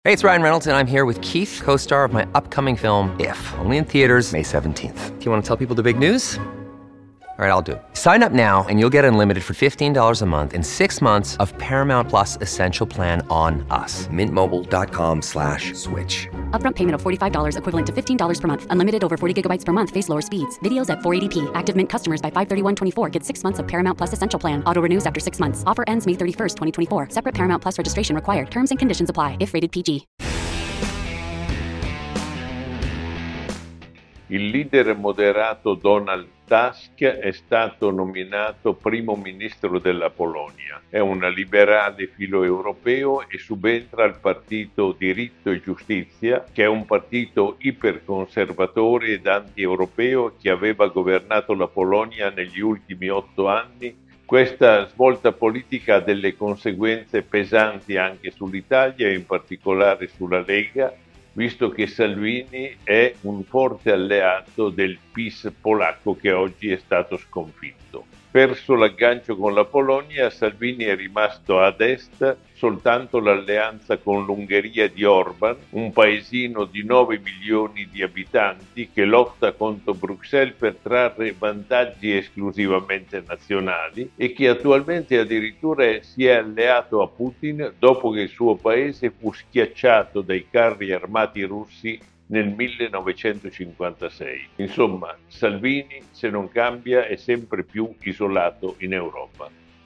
Hey, it's Ryan Reynolds, and I'm here with Keith, co-star of my upcoming film, If, only in theaters May 17th. Do you want to tell people the big news? All right, I'll do it. Sign up now and you'll get unlimited for $15 a month and 6 months of Paramount Plus Essential Plan on us. MintMobile.com/switch. Upfront payment of $45 equivalent to $15 per month. Unlimited over 40 gigabytes per month. Face lower speeds. Videos at 480p. Active Mint customers by 531.24 get 6 months of Paramount Plus Essential Plan. Auto renews after 6 months. Offer ends May 31st, 2024. Separate Paramount Plus registration required. Terms and conditions apply if rated PG. Il leader moderato Donald Tusk è stato nominato primo ministro della Polonia. È un liberale filoeuropeo e subentra al partito Diritto e Giustizia, che è un partito iperconservatore ed anti-europeo che aveva governato la Polonia negli ultimi 8 anni. Questa svolta politica ha delle conseguenze pesanti anche sull'Italia e in particolare sulla Lega, visto che Salvini è un forte alleato del PiS polacco che oggi è stato sconfitto. Perso l'aggancio con la Polonia, Salvini è rimasto ad est soltanto l'alleanza con l'Ungheria di Orban, un paesino di 9 milioni di abitanti che lotta contro Bruxelles per trarre vantaggi esclusivamente nazionali e che attualmente addirittura si è alleato a Putin dopo che il suo paese fu schiacciato dai carri armati russi nel 1956. Insomma, Salvini, se non cambia, è sempre più isolato in Europa.